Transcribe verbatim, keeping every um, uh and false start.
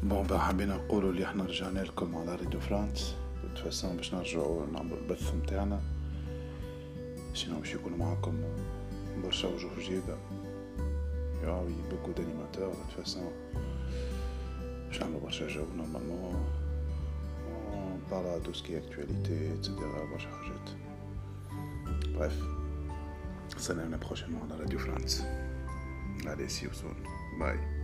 بون بقى حابين نقولوا اللي احنا رجعنا لكم على راديو فرانس بتفسون باش نرجعوا نعملوا البث متاعنا. سينو باش يكونوا معكم برشا وجوه جديدة ياوي بوكو دانيماتور بتفسون باش نعملوا برشا جو نورمالمون بارا دو سكي اكتواليتي اتسيتيرا برشا حاجات. بريف سلام بروشينمون على راديو فرانس. Allez, see you soon. Bye.